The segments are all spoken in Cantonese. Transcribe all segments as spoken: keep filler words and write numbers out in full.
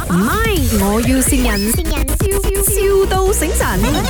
唔係，我要線人，笑笑到醒神。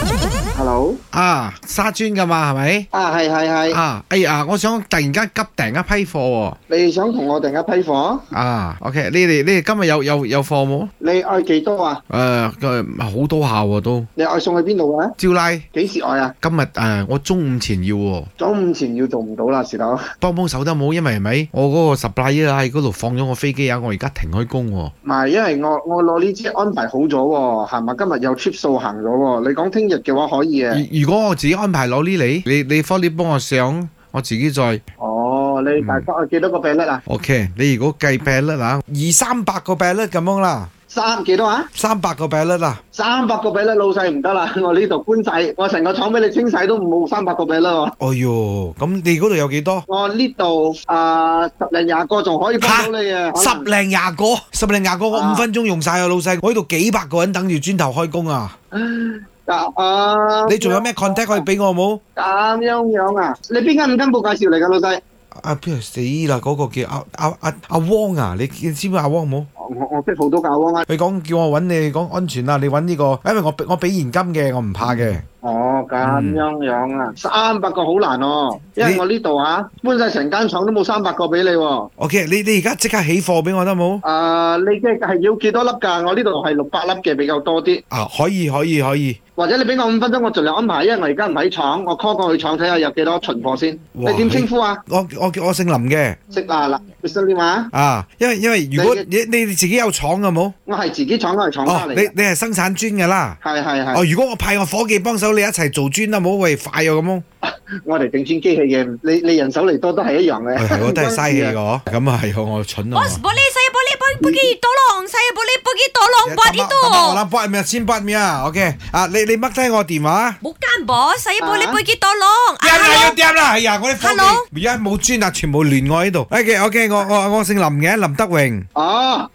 Hello， 啊，沙磚噶嘛，係咪？ 啊係係係， 啊，哎呀，我想突然間急訂一批貨喎。 你想同我訂一批貨？ 啊，OK，你哋你哋今日有有有貨冇？ 你愛幾多啊？ 誒，誒好多下喎都。 你愛送去邊度啊？ 招拉， 幾時愛啊？ 今日誒，我中午前要喎。 中午前要做唔到啦，時頭。 幫幫手得冇？因為係咪？我嗰個 supply 啊喺嗰度放咗個飛機啊，我而家停開工喎。 唔係，因為我我攞呢支安排好咗喎，係咪？今日有 trip 數行咗喎。你講聽日嘅話可以嘅。 如如果我自己安排攞呢嚟，你你科你幫我上，我自己再。 哦，你大概幾多個比率啊 ？OK，你如果計比率啊，二三百個比率咁樣啦。 三幾多啊？ 三百個比率啦。 三百個比率老細唔得啦，我呢度搬晒，我成個廠俾你清晒都冇三百個比率喎。 哎喲，咁你嗰度有幾多？ 我呢度啊十零廿個仲可以幫到你啊。 十零廿個，十零廿個，我五分鐘用晒啊，老細，我呢度幾百個人等住磚頭開工啊。 啊！ 你仲有咩 contact 可以俾我冇？ 咁樣樣啊？你邊間五金部介紹嚟㗎，老細？ 啊，邊個死啦？嗰個叫阿阿阿阿汪啊！你知唔知阿汪冇？ 我我識好多教汪啊！ 佢講叫我揾你講安全啊！你揾呢個，因為我我俾現金嘅，我唔怕嘅。 哦，咁樣樣啊，三百個好難哦，因為我呢度啊搬晒成間廠都冇三百個俾你喎。 OK，你你而家即刻起貨俾我得冇？ 啊，你嘅係要幾多粒㗎？我呢度係六百粒嘅比較多啲。 啊，可以可以可以。 或者你俾我五分鐘，我盡量安排，因為我而家唔喺廠，我 call 過去廠睇下有幾多存貨先。你點稱呼啊？ 我我叫我姓林嘅。 識啦嗱，你姓點啊？ 啊，因為因為如果你你自己有廠嘅冇？ 我係自己廠，我係廠家嚟。 你你係生產磚嘅啦。 係係係。 哦，如果我派我伙計幫手，你一齊做磚啦，冇喂快啊咁樣。 我哋整磚機器嘅，你你人手嚟多都係一樣嘅。 係我都係嘥氣個，咁啊係我蠢啊。 Bos, boleh saya boleh pergi tolong, saya boleh pergi tolong buat itu. 我啦，buat咩先？buat 咩啊？OK，啊你你 mark 低我電話。 Bukan bos, saya boleh pergi tolong. 掂啦要掂啦，係啊，我啲伙計 Hello？ 而家冇磚啊，全部亂我喺度。OK OK，我我我姓林嘅，林德榮。 哦。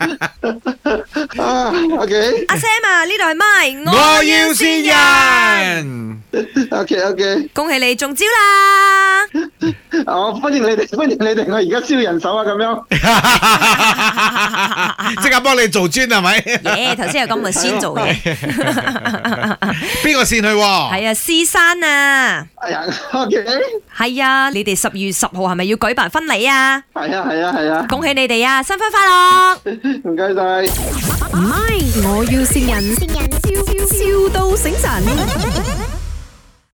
啊，OK。 阿 Sam 啊，呢度係咪？ 我要線人。 OK OK。 恭喜你中招啦！ 哦，歡迎你哋，歡迎你哋，我而家招人手啊，咁樣。 即刻幫你做磚係咪？ 耶，頭先有咁嘅先做嘅。 邊個線去？ 係啊，獅山啊。 哎呀，OK。 係啊，你哋十月十號係咪要舉辦婚禮啊？ 係啊係啊係啊。 恭喜你哋啊，新婚快樂！ 唔該晒。 唔係，我要線人，笑笑到醒神。